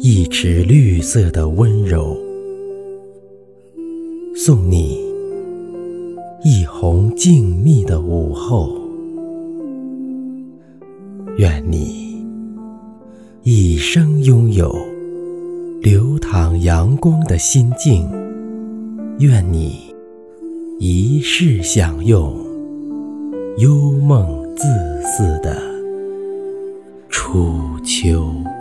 一池绿色的温柔，送你一泓静谧的午后。愿你一生拥有流淌阳光的心境，愿你一世享用幽梦自似的初秋。